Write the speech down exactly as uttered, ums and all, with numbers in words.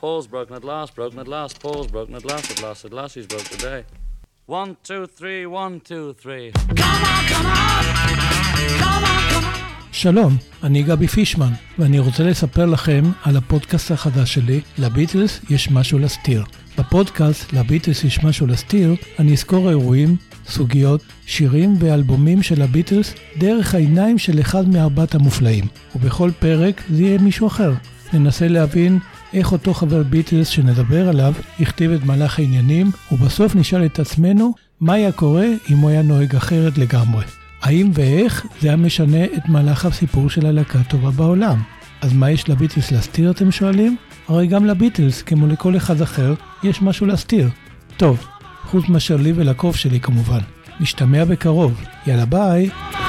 Paul's broken at last, broken at last, Paul's broken at last, at last, at last he's broke today. One, two, three, one, two, three. Come on, come on, come on, come on. שלום, אני גבי פישמן, ואני רוצה לספר לכם על הפודקאסט החדש שלי, לביטלס יש משהו להסתיר. בפודקאסט לביטלס יש משהו להסתיר, אני אזכור אירועים, סוגיות, שירים ואלבומים של הביטלס דרך העיניים של אחד מארבעת המופלאים. ובכל פרק זה יהיה מישהו אחר. ננסה להבין איך אותו חבר ביטלס שנדבר עליו הכתיב את מהלך העניינים, ובסוף נשאל את עצמנו מה היה קורה אם הוא היה נוהג אחרת לגמרי. האם ואיך זה היה משנה את מהלך הסיפור של הלהקה הטובה בעולם. אז מה יש לביטלס להסתיר, אתם שואלים? הרי גם לביטלס, כמו לכל אחד אחר, יש משהו להסתיר. טוב, חוץ מאשר לי ולקוף שלי כמובן. נשתמע בקרוב. יאללה ביי.